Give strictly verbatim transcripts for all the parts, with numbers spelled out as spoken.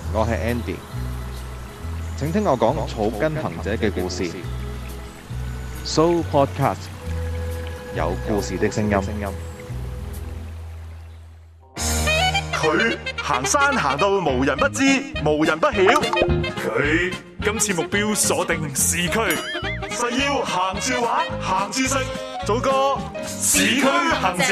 我係 Andy，請聽我講草根行者嘅故事。So Podcast 有故事的聲音。 佢行山行到無人不知，無人不曉。佢今次目標鎖定市區，誓要行住玩，行住食，做個市區行者。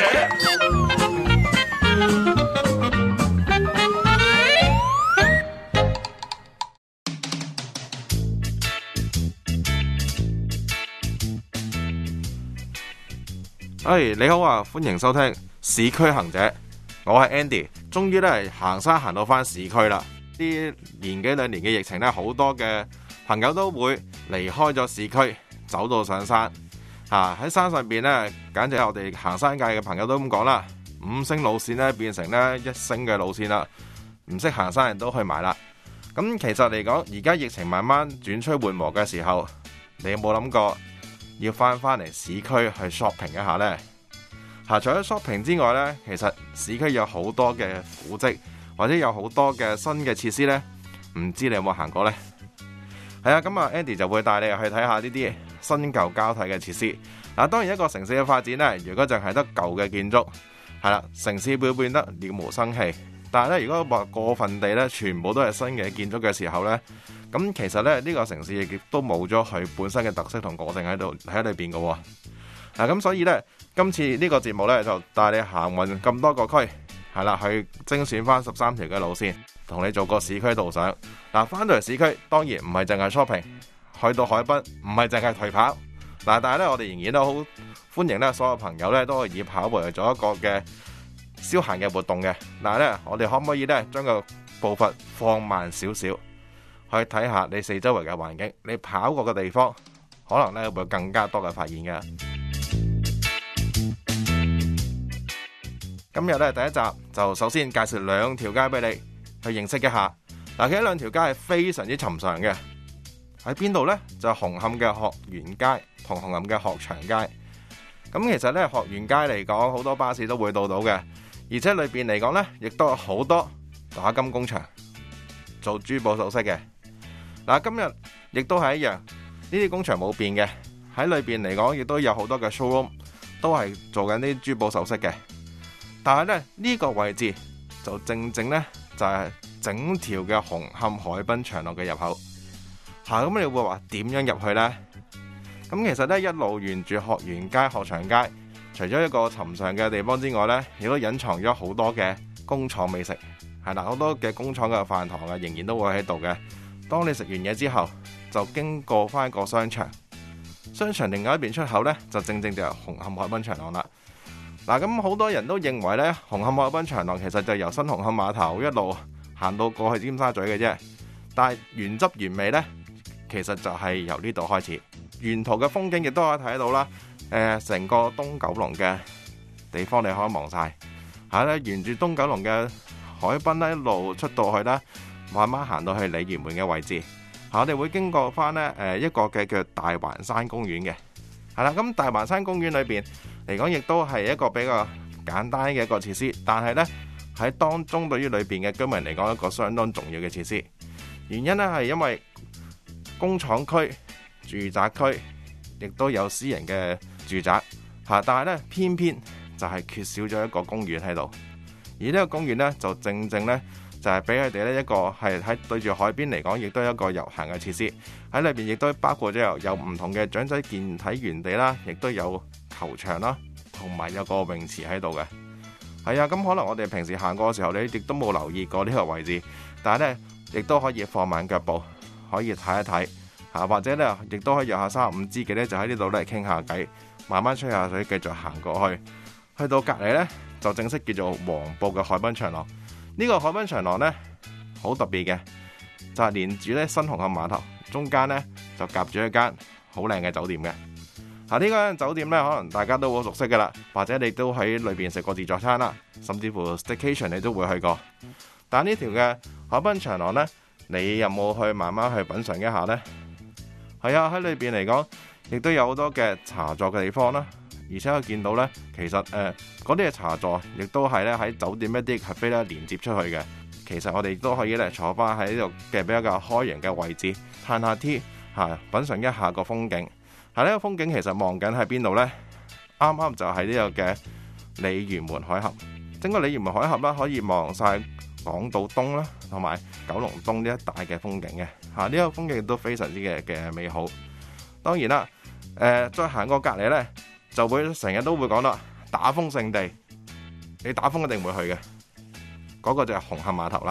哎，你好啊，歡迎收聽市區行者，我係 Andy， 終於咧行山行到翻市區啦。呢年幾兩年嘅疫情咧，好多嘅朋友都會離開咗市區，走到上山。啊，喺山上邊咧，簡直係我哋行山界嘅朋友都咁講啦，五星路線咧變成咧一星嘅路線啦，唔識行山人都去埋啦。咁其實嚟講，而家疫情慢慢轉趨緩和嘅時候，你有冇諗過要翻返嚟市區去 shopping 一下呢？嚇，除咗 shopping 之外呢，其實市區有好多嘅古蹟，或者有好多嘅新嘅設施呢，唔知你有冇行過呢？係啊，咁啊 Andy 就會帶你去睇下呢啲新舊交替嘅設施。嗱，當然一個城市嘅發展呢，如果淨係得舊嘅建築，係啦，城市會變得了無生氣。但係咧，如果話過分地咧，全部都係新嘅建築嘅時候呢，咁其實咧呢個城市亦都冇咗佢本身嘅特色同個性喺度喺裏邊嘅喎。嗱，咁所以呢，今次呢個節目呢，就帶你行勻咁多個區，係啦，去精選翻十三條嘅路線，同你做個市區導賞。嗱，翻到嚟市區，當然唔係淨係 shopping，去到海濱唔係淨係頹跑。嗱，但係咧，我哋仍然都好歡迎咧，所有朋友咧都可以以跑步嚟做一個嘅消閒嘅活動嘅。但係咧，我哋可唔可以咧將個步伐放慢少少，去睇下你四周圍嘅環境，你跑過嘅地方，可能咧會有更加多嘅發現嘅。今日咧第一集就首先介紹兩條街俾你去認識一下。嗱，其實兩條街係非常之尋常嘅，喺邊度呢？就係紅磡嘅學園街同紅磡嘅學祥街。咁其實咧學園街嚟講，好多巴士都會到到嘅，而且裏邊嚟講呢，亦都有好多打金工場做珠寶首飾嘅。嗱，今日亦都係一樣，呢啲工場冇變嘅，喺裏邊嚟講亦都有好多嘅 showroom 都係做緊啲珠寶首飾嘅。但係咧呢個位置就正正呢，就係整條嘅紅磡海濱長廊嘅入口。嚇，咁你會話點樣入去呢？咁其實呢，一路沿住學園街、學祥街，除咗一個尋常嘅地方之外呢，亦都隱藏咗好多嘅工廠美食。係啦，好多嘅工廠嘅飯堂啊，仍然都會喺度嘅。當你食完嘢之後，就經過翻個商場，商場另外一邊出口呢，就正正就係紅磡海濱長廊啦。嗱，咁好多人都認為呢，紅磡海濱長廊其實就由新紅磡碼頭一路行到過去尖沙咀嘅啫。但係原汁原味呢，其實就係由呢度開始。沿途嘅風景亦都可以睇到啦。誒、呃，成個東九龍嘅地方你可以望晒。嚇咧，沿住東九龍嘅海濱咧，一路出到去啦，慢慢行到去鯉魚門嘅位置。嚇，我哋會經過翻呢誒一個嘅叫大環山公園嘅。係啦，咁大環山公園裏邊嚟講，亦都係一個比較簡單嘅一個設施，但係呢，喺當中對於裏邊嘅居民嚟講，一個相當重要嘅設施。原因呢，係因為工廠區、住宅區，亦都有私人嘅住宅嚇，但係呢，偏偏就係缺少咗一個公園喺度。而呢個公園呢，就正正呢，就係俾佢哋呢一個係喺對住海邊嚟講，亦都係一個遊行嘅設施。喺裏邊亦都包括咗有有唔同嘅長者健體園地啦，亦都有球場啦，同埋有個泳池喺度嘅。係啊，咁可能我哋平時行過嘅時候，你亦都冇留意過呢個位置，但係呢，亦都可以放慢腳步，可以睇一睇嚇，或者呢，亦都可以約下三十五知己呢，就喺呢度咧傾下偈，慢慢吹下水，繼續行過去。去到隔離呢，就正式叫做黃埔嘅海濱長廊。呢、這個海濱長廊呢，好特別嘅，就係、是、連住咧新紅磡碼頭中間呢，就夾住一間好靚嘅酒店嘅。啊，呢間酒店呢，可能大家都好熟悉噶啦，或者你都喺裏邊食過自助餐啦，甚至乎 staycation 你都會去過。但呢條嘅海濱長廊呢，你有冇去慢慢去品嚐一下呢？係啊，喺裏邊嚟講，亦都有好多嘅茶座嘅地方啦， 而且我見到呢，其實誒嗰啲嘅茶座亦都係咧喺酒店一啲 cafe 咧連接出去嘅。其實我哋都可以咧坐翻喺呢度嘅比較開揚嘅位置，嘆下 tea 嚇，品嚐一下個風景。係呢個風景其實望緊喺邊度呢？啱啱就係呢個嘅鯉魚門海峽。整個鯉魚門海峽啦，可以望晒港島東啦，同埋九龍東呢一帶嘅風景嘅嚇。呢個風景都非常之嘅嘅美好。當然啦，誒、呃、再行過隔離呢，就會成日都會講啦，打風勝地，你打風一定會去嘅。嗰、那個就係紅磡碼頭啦。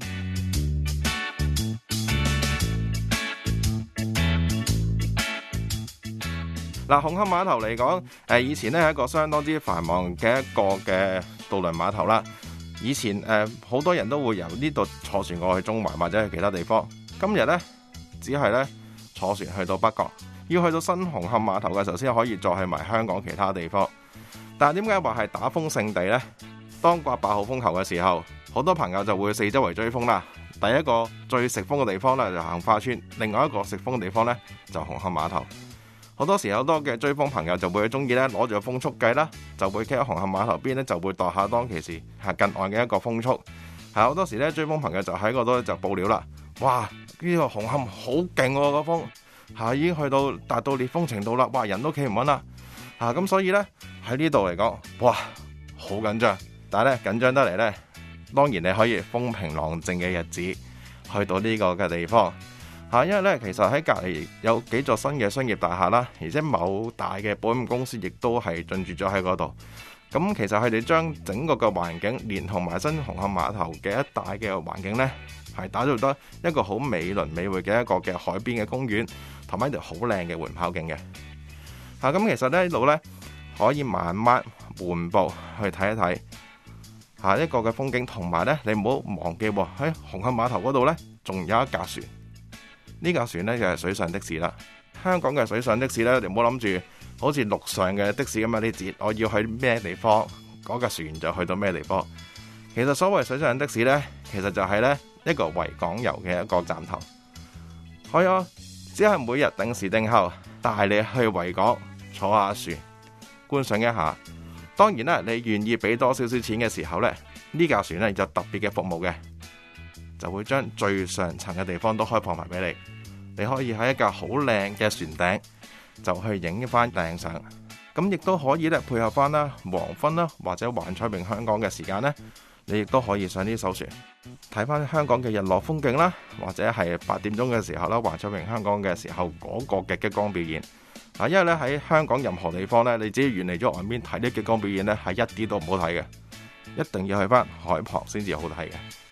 嗱，紅磡碼頭嚟講，誒以前咧係一個相當之繁忙嘅一個嘅渡輪碼頭啦。以前誒好多人都會由呢度坐船過去中環或者去其他地方。今日呢，只係咧坐船去到北角，要去到新紅磡碼頭嘅時候先可以再去埋香港其他地方。但係點解話係打風勝地呢？當刮八號風球嘅時候，好多朋友就會四周圍追風啦。第一個最食風嘅地方呢，就杏花村，另外一個食風嘅地方呢，就紅磡碼頭。好多時好多嘅追風朋友就會中意咧攞住個風速計啦，就會企喺紅磡碼頭邊咧，就會度下當其時係近岸嘅一個風速。係好多時咧追風朋友就喺嗰度就報料啦。哇！呢個紅磡好勁喎，個風係已經去到達到烈風程度啦。哇！人都企唔穩啦。啊咁，所以咧喺呢度嚟講，哇，好緊張。但係咧緊張得嚟咧，當然你可以風平浪靜嘅日子去到呢個嘅地方。嚇，因為咧，其實喺隔離有幾座新嘅商業大廈啦，而且某大嘅保險公司亦都係進駐咗喺嗰度。咁其實佢哋將整個嘅環境，連同埋新紅磡碼頭嘅一帶嘅環境呢，係打造得一個好美輪美奐嘅一個嘅海邊嘅公園，同埋一條好靚嘅緩跑徑嘅。嚇，咁其實呢度呢，可以慢慢緩步去睇一睇下一個嘅風景，同埋呢，你唔好忘記喎，喺紅磡碼頭嗰度呢，仲有一架船。呢架船呢，就係水上的士啦。香港嘅水上的士呢，你唔好諗住好似陸上嘅的，的士咁樣啲節，我要去咩地方，嗰架船就去到咩地方。其實所謂水上的士呢，其實就係呢一個維港遊嘅一個站頭。係啊，只係每日定時定候帶你去維港坐下船，觀賞一下。當然啦，你願意俾多少少錢嘅時候呢，呢架船呢就特別嘅服務嘅。就會將最上層嘅地方都開放埋俾你，你可以喺一架好靚嘅船頂就去影翻靚相。咁亦都可以咧配合翻啦黃昏啦或者環彩詠香港嘅時間呢，你亦都可以上呢艘船睇翻香港嘅日落風景啦，或者係八點鐘嘅時候啦環彩詠香港嘅時候嗰個嘅激光表演。啊，因為咧喺香港任何地方呢，你只要遠離咗岸邊睇啲激光表演呢，係一啲都唔好睇嘅，一定要去翻海旁先至好睇嘅。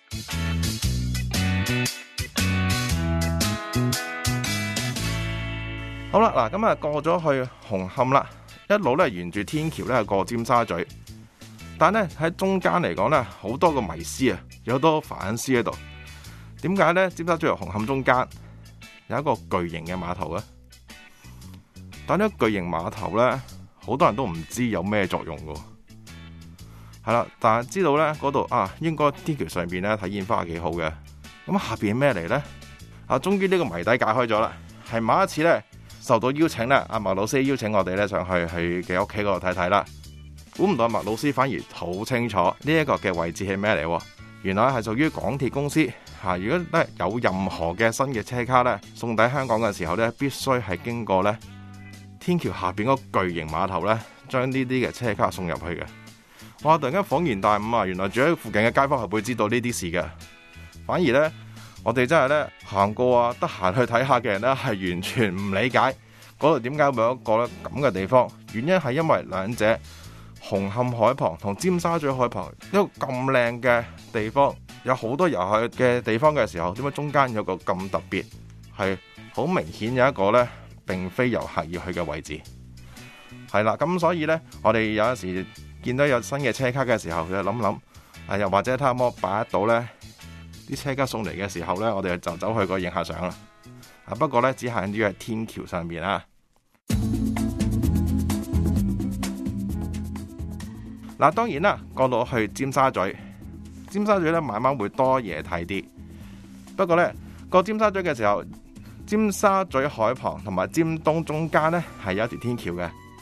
好啦，嗱咁啊過咗去紅磡啦，一路咧沿住天橋咧過尖沙咀，但係咧喺中間嚟講咧好多個迷思啊，有好多反思喺度。點解咧尖沙咀同紅磡中間有一個巨型嘅碼頭咧？但係呢個巨型碼頭咧，好多人都唔知有咩作用噶。係啦，但係知道咧嗰度啊，應該天橋上邊咧睇煙花幾好嘅。咁下邊咩嚟咧？啊，終於呢個謎底解開咗啦。係某一次咧，受到邀請咧，阿麥老師邀請我哋咧上去去嘅屋企嗰度睇睇啦。估唔到阿麥老師反而好清楚呢一個嘅位置係咩嚟？原來係屬於港鐵公司嚇。如果咧有任何嘅新嘅車卡咧送抵香港嘅時候咧，必須係經過咧天橋下邊嗰個巨型碼頭咧，將呢啲嘅車卡送入去嘅。哇！突然間恍然大悟啊！原來住喺附近嘅街坊係會知道呢啲事嘅。反而咧，我哋真係咧行過啊，得閒去睇下嘅人咧，係完全唔理解嗰度點解會有一個咧咁嘅地方。原因係因為兩者紅磡海旁同尖沙咀海旁一個咁靚嘅地方，有好多遊客嘅地方嘅時候，點解中間有個咁特別，係好明顯有一個咧並非遊客要去嘅位置。係啦，咁所以咧，我哋有陣時見到有新嘅車卡嘅時候，就諗諗，啊又或者睇下可擺得到咧。啲車卡送嚟嘅時候呢，我哋就走去個影下相啦。啊，不過呢，只限於喺天橋上面啦。嗱，當然啦，過到去尖沙咀，尖沙咀呢慢慢會多嘢睇啲。不過呢，過尖沙咀嘅時候，尖沙咀海旁同埋尖東中間呢係有一條天橋嘅。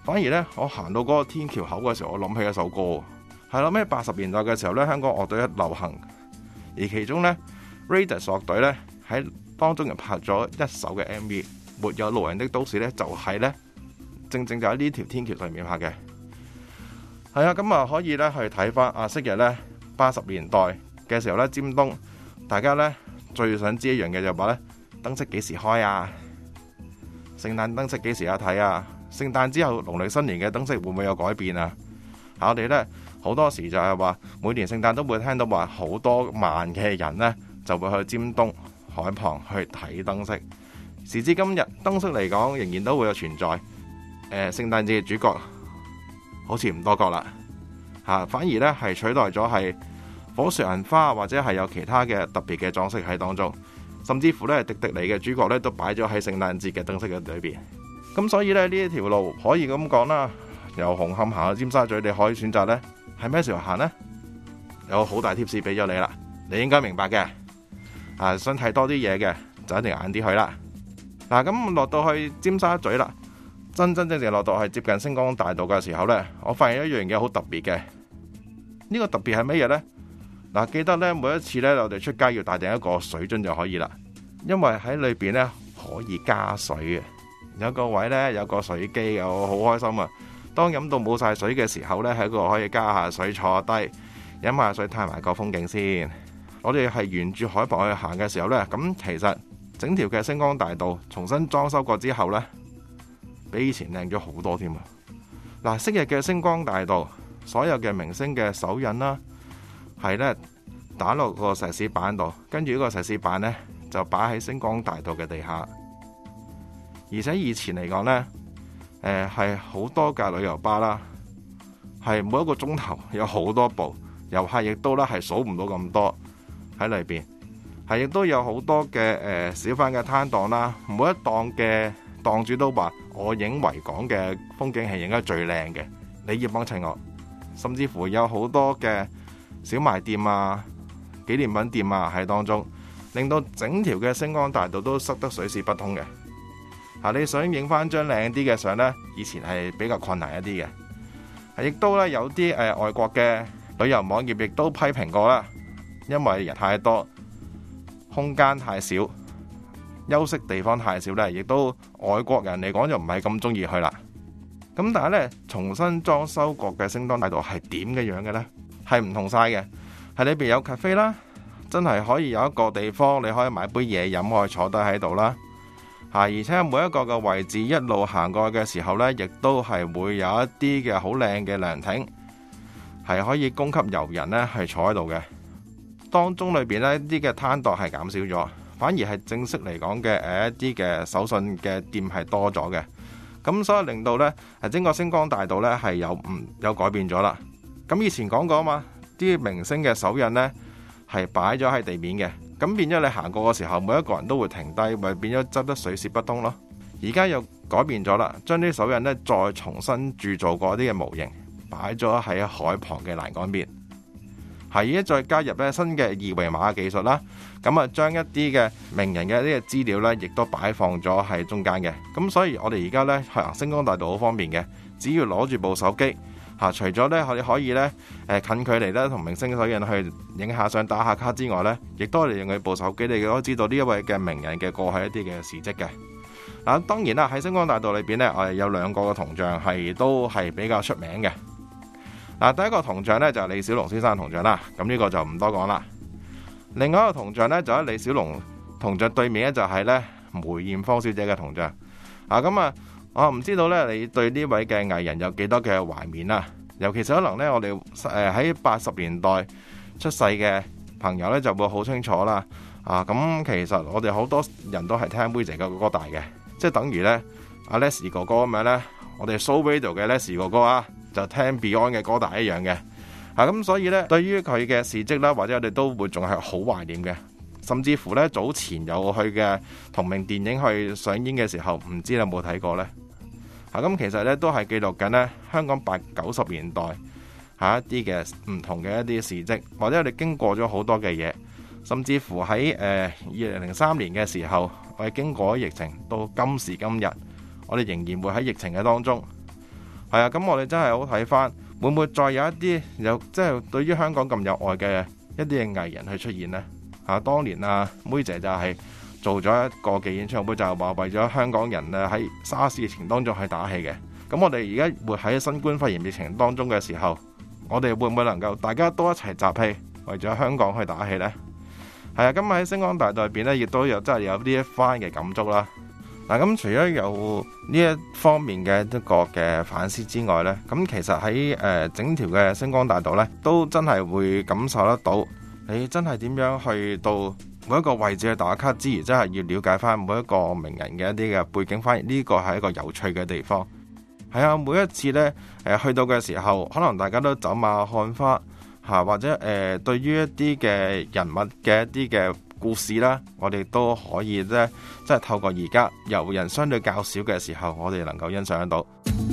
反而呢，我行到嗰個天橋口嘅時候，我諗起一首歌，係諗起八十年代嘅時候呢，香港樂隊一流行，而其中呢 Raidas 樂隊呢，喺當中又拍咗一首嘅 M V， 沒有路人的都市呢，就係呢，正正就喺呢條天橋上面拍嘅。係啊，咁啊可以呢去睇翻啊，昔日呢，八十年代嘅時候呢，尖東大家呢最想知一樣嘅就話呢，燈飾幾時開啊？聖誕燈飾幾時有睇啊？聖誕之後農曆新年嘅燈飾會唔會有改變啊？我哋呢好多時就係話每年聖誕都會聽到話好多萬嘅人呢就會去尖東海旁去睇燈飾。時至今日，燈飾嚟講仍然都會有存在。誒、呃，聖誕節嘅主角好似唔多個啦，嚇，反而呢係取代咗係火樹銀花或者係有其他嘅特別嘅裝飾喺當中，甚至乎呢迪迪尼嘅主角呢都擺咗喺聖誕節嘅燈飾嘅裏邊。咁所以咧呢一條路可以咁講啦，由紅磡行去尖沙咀，你可以選擇呢係咩時候行呢？有好大貼士俾咗你啦，你應該明白嘅。啊，想睇多啲嘢嘅就一定晏啲去啦。嗱，咁落到去尖沙咀啦，真真正正落到去接近星光大道嘅時候呢，我發現一樣嘢好特別嘅。呢個特別係乜嘢呢？嗱，記得呢每一次呢，我哋出街要帶定一個水樽就可以啦，因為喺裏邊呢可以加水嘅。有個位呢，有個水機，我好開心啊！當飲到冇晒水嘅時候呢，喺度可以加下水，坐低飲下水，睇埋個風景先。我哋係沿住海旁去行嘅時候呢，咁其實整條嘅星光大道重新裝修過之後呢，比以前靚咗好多添啊！嗱，昔日嘅星光大道，所有嘅明星嘅手印啦，係呢打落個石屎板度，跟住呢個石屎板呢，就擺喺星光大道嘅地下。而且以前嚟講呢，誒係好多架旅遊巴啦，係每一個鐘頭有好多部遊客，亦都咧係數唔到咁多喺裏邊，係亦都有好多嘅誒、呃、小販嘅攤檔啦。每一檔嘅檔主都話：我影維港嘅風景係影得最靚嘅，你要幫襯我。甚至乎有好多嘅小賣店啊、紀念品店啊喺當中，令到整條嘅星光大道都塞得水泄不通嘅。你想影翻張靚啲嘅相呢，以前係比較困難一啲嘅，亦都咧有啲誒、呃、外國嘅旅遊網頁亦都批評過啦，因為人太多，空間太少，休息地方太少呢，亦都外國人嚟講就唔係咁中意去啦。咁但係呢，重新裝修過嘅星光大道係點嘅樣嘅呢？係唔同晒嘅，係裏邊有 cafe 啦，真係可以有一個地方你可以買杯嘢飲，可以坐低喺度啦。而且每一個嘅位置一路行過去嘅時候呢，亦都係會有一啲嘅好靚嘅涼亭，係可以供給遊人呢係坐喺度嘅。當中裏邊呢啲嘅攤檔係減少咗，反而係正式嚟講嘅誒一啲嘅手信嘅店係多咗嘅。咁所以令到呢係整個星光大道呢係有唔有改變咗啦。咁以前講過啊嘛，啲明星嘅手印呢係擺咗喺地面嘅。咁變咗你行過嘅時候，每一個人都會停低，咪變咗執得水泄不通咯。而家又改變咗啦，將啲手印呢再重新鑄造過啲嘅模型，擺咗喺海旁嘅欄杆邊。係而家再加入咧新嘅二維碼技術啦，咁啊將一啲嘅名人嘅呢個資料呢，亦都擺放咗喺中間嘅。咁所以我哋而家呢，行星光大道好方便嘅，只要攞住部手機。嚇，除咗咧，我哋可以咧，誒近距離咧同明星手印去影下相、打下卡之外咧，亦都係用佢部手機，你都知道呢一位嘅名人嘅過去一啲嘅事蹟嘅。嗱，當然啦，喺星光大道裏邊咧，我哋有兩個嘅銅像係都係比較出名嘅。嗱，第一個銅像咧就係李小龍先生銅像啦，咁呢個就唔多講啦。另外一個銅像咧就喺李小龍銅像對面咧就係咧梅艷芳小姐嘅銅像。啊，咁啊。我唔知道咧，你對呢位嘅藝人有幾多嘅懷緬啦？尤其是可能咧，我哋誒喺八十年代出世嘅朋友咧，就會好清楚啦。啊，咁其實我哋好多人都係聽妹姐嘅歌大嘅，即係等於咧阿 Leslie 哥哥咁樣咧，我哋 Soul Radio 嘅 Leslie 哥哥啊，就聽 Beyond 嘅歌大一樣嘅。啊，咁所以咧，對於佢嘅事蹟啦，或者我哋都會仲係好懷念嘅。甚至乎咧，早前有去嘅同名電影去上映嘅時候，唔知你有冇睇過呢？咁其實咧都係記錄緊咧香港八九十年代嚇一啲嘅唔同嘅一啲事蹟，或者我哋經過咗好多嘅嘢，甚至乎喺誒二零零三年嘅時候，我哋經過咗疫情，到今時今日，我哋仍然會喺疫情嘅當中係啊，咁我哋真係好睇翻，會唔會再有一啲有即係對於香港咁有愛嘅一啲嘅藝人去出現呢？啊，當年啊，妹姐就係做咗一個嘅演唱會，就係話為咗香港人啊喺沙士疫情當中去打氣嘅。咁我哋而家活喺新冠肺炎疫情當中嘅時候，我哋會唔會能夠大家都一齊集氣，為咗香港去打氣呢？係啊，今日喺星光大道入邊呢，亦都有真係有呢一番嘅感觸啦。嗱，咁除咗有呢一方面嘅一個嘅反思之外呢，咁其實喺誒整條嘅星光大道呢，都真係會感受得到，你真係點樣去到每一個位置去打卡之餘，真係要了解翻每一個名人嘅一啲嘅背景，反而呢個係一個有趣嘅地方。係啊，每一次呢，誒去到嘅時候，可能大家都走馬看花嚇，或者誒、呃、對於一啲嘅人物嘅一啲嘅故事啦，我哋都可以咧，即係透過而家遊人相對較少嘅時候，我哋能夠欣賞得到。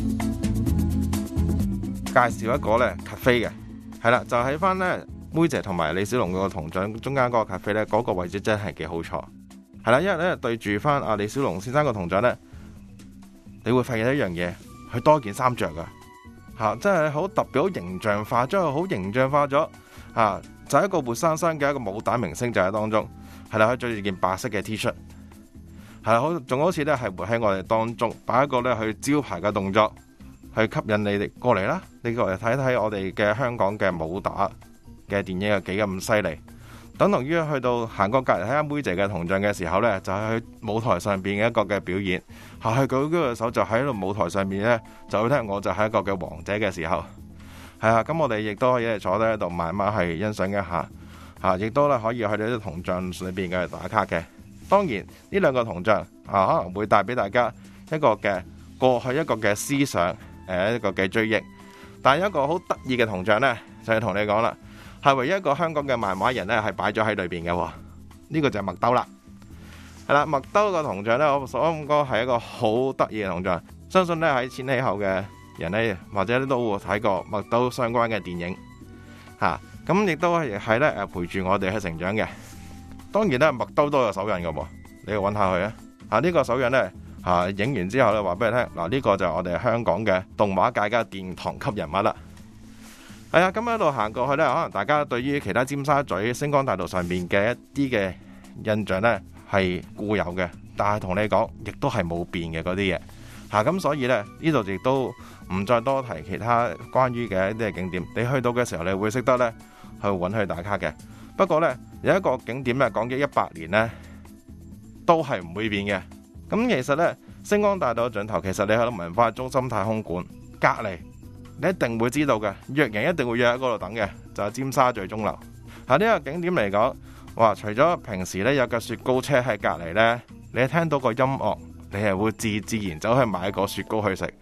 介紹一個呢 cafe 嘅，係啦，就喺翻呢妹姐同埋李小龍嗰個銅像中間嗰個 cafe 呢，嗰個位置真係幾好坐。係啦，因為呢對住翻阿李小龍先生個銅像呢，你會發現一樣嘢。佢多件衫着噶，嚇，真係好特別，好形象化，將佢好形象化咗，嚇，就係一個活生生嘅一個武打明星就喺當中，係啦，佢着住件白色嘅 T 恤，係啦，好，仲好似咧係活喺我哋當中，擺一個咧去招牌嘅動作，去吸引你哋過嚟啦，你過嚟睇睇我哋嘅香港嘅武打嘅電影有幾咁犀利。等同於去到行過隔離睇下妹姐嘅銅像嘅時候呢，就係去舞台上邊嘅一個嘅表演，下去舉嗰個手就喺度舞台上面呢，就會聽我就係一個嘅王者嘅時候，係啊，咁我哋亦都可以坐低喺度慢慢去欣賞一下，嚇，亦都咧可以去到啲銅像裏邊嘅打卡嘅。當然呢兩個銅像啊，可能會帶俾大家一個嘅過去一個嘅思想，誒一個嘅追憶。但係一個好得意嘅銅像呢，就係同你講啦。係唯一一個香港嘅漫畫人呢，係擺咗喺裏邊嘅，呢、這個就係麥兜啦。係啦，麥兜個銅像呢，我所講係一個好得意嘅銅像。相信呢，喺千禧後嘅人呢，或者都會睇過麥兜相關嘅電影嚇。咁、啊、亦都係係咧誒陪住我哋去成長嘅。當然呢，麥兜都有手印嘅喎，你去揾下佢啊。嚇、這、呢個手印呢，嚇影完之後呢，話俾你聽嗱，呢、這個就係我哋香港嘅動畫界嘅殿堂級人物啦。係啊，咁喺度行過去呢，可能大家對於其他尖沙咀星光大道上面嘅一啲嘅印象呢係固有嘅，但係同你講，亦都係冇變嘅嗰啲嘢嚇。咁所以呢，呢度亦都唔再多提其他關於嘅一啲嘅景點。你去到嘅時候，你會識得呢去揾佢打卡嘅。不過呢，有一個景點呢，講咗一百年呢都係唔會變嘅。咁其實呢，星光大道盡頭，其實你喺度文化中心太空館隔離。你一定會知道嘅，約人一定會約喺嗰度等嘅，就係尖沙咀鐘樓。喺呢個景點嚟講，哇！除咗平時呢有架雪糕車喺隔離呢，你聽到個音樂，你係會自自然走去買個雪糕去食。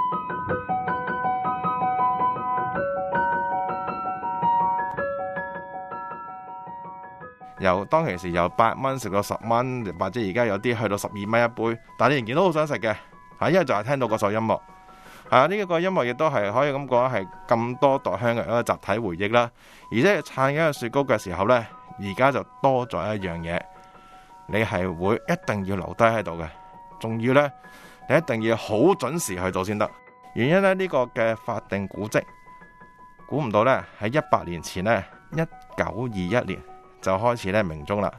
由當其時由八蚊食到十蚊，或者而家有啲去到十二蚊一杯，但係你仍然都好想食嘅，嚇！因為就係聽到嗰首音樂。啊！呢、這、一個音樂亦都係可以咁講，係咁多代香港人一個集體回憶啦。而且撐緊個雪糕嘅時候呢，而家就多咗一樣嘢，你係會一定要留低喺度嘅，仲要呢，你一定要好準時去到先得。原因呢，呢、這個嘅法定古蹟，估唔到呢，喺一百年前呢，一九二一年就開始呢鳴鐘啦。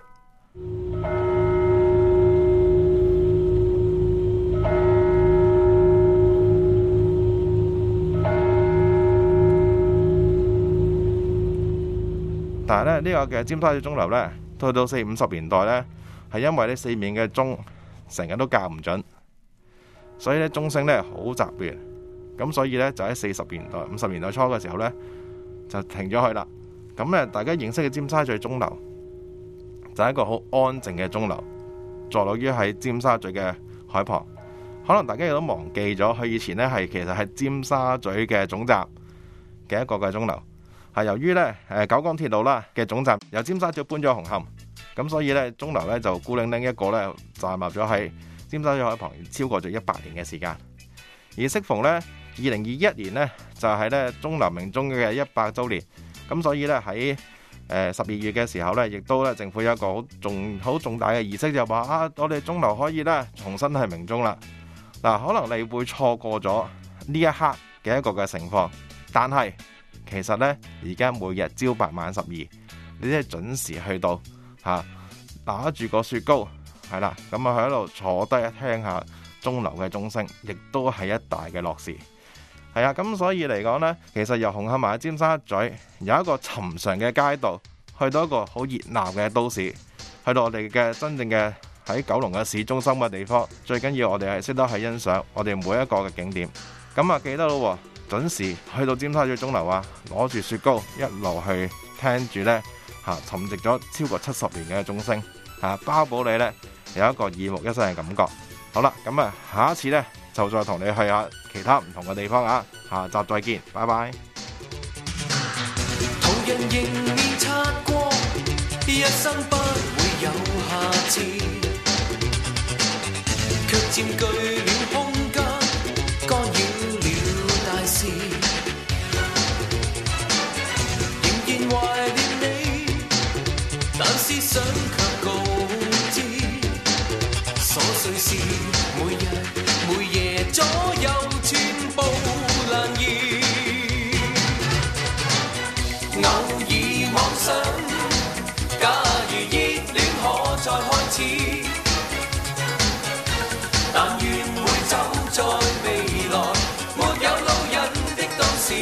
但係咧，呢個嘅尖沙咀鐘樓呢，去到四五十年代呢，係因為呢四面嘅鐘成日都校唔準，所以呢鐘聲呢好雜亂，咁所以呢，就喺四十年代、五十年代初嘅時候呢，就停咗去啦。咁呢，大家認識嘅尖沙咀鐘樓就係一個好安靜嘅鐘樓，坐落於喺尖沙咀嘅海旁。可能大家亦都忘記咗，佢以前呢係其實係尖沙咀嘅總站嘅一個嘅鐘樓。係由於咧，誒九廣鐵路啦嘅總站由尖沙咀搬咗紅磡，咁所以咧鐘樓咧就孤零零一個咧站立咗喺尖沙咀海旁，超過咗一百年嘅時間。而適逢咧二零二一年呢，就係咧鐘樓鳴鐘嘅一百週年，咁所以咧喺誒十二月嘅時候咧，亦都咧政府有一個好重好重大嘅儀式，就話啊，我哋鐘樓可以咧重新係鳴鐘啦。嗱，可能你會錯過咗呢一刻嘅一個嘅情況。但係其實呢，而家每日朝八晚十二，你即係準時去到嚇，拿住個雪糕係啦，咁啊喺度坐低聽下鐘樓嘅鐘聲，亦都係一大嘅樂事。係啊，咁所以嚟講呢，其實由紅磡埋尖沙咀有一個尋常嘅街道，去到一個好熱鬧嘅都市，去到我哋嘅真正嘅喺九龍嘅市中心嘅地方，最緊要我哋係識得去欣賞我哋每一個嘅景點。咁啊記得咯，準時去到尖沙咀鐘樓啊，攞住雪糕一路去聽住呢嚇沉寂咗超過七十年嘅鐘聲嚇，包保你呢有一個耳目一新嘅感覺。好啦，咁啊下一次呢，就再同你去下其他唔同嘅地方啊，下集再見，拜拜。 途人迎面擦過，一生不會有下次，卻佔據了空間，干擾了大事。仍然懷念你，但思想卻告知，瑣碎事每日每夜左右全部難言。偶爾妄想，假如熱戀可再開始，但願會走在未來沒有路人的都市。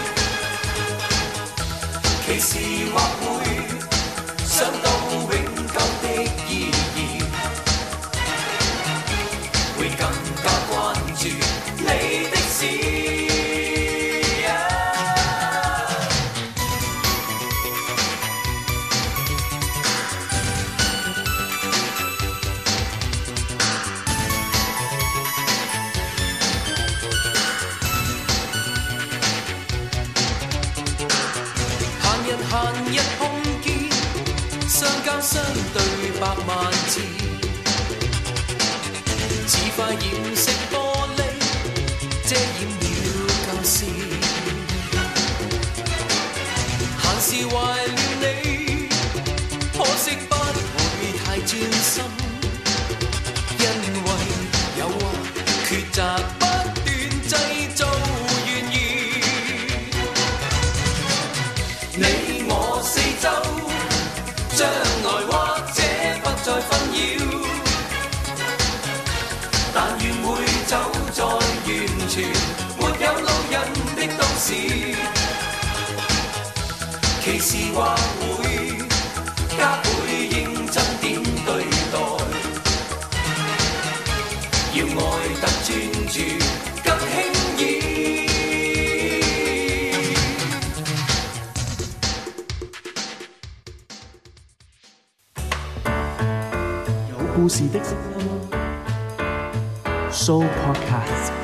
其時或會想到永久的意義，會更加關注你的事。閒日碰見，相交相對百萬次，似塊染色玻璃遮掩了舊事。閒時懷念你，可惜不會太專心，因為誘惑抉擇不斷製造懸疑。你四周將來或者不再紛擾，但願會走在完全沒有路人的都市。其時或會加倍認真點對待，要愛得專注更輕易。 故事的聲音 Show Podcast。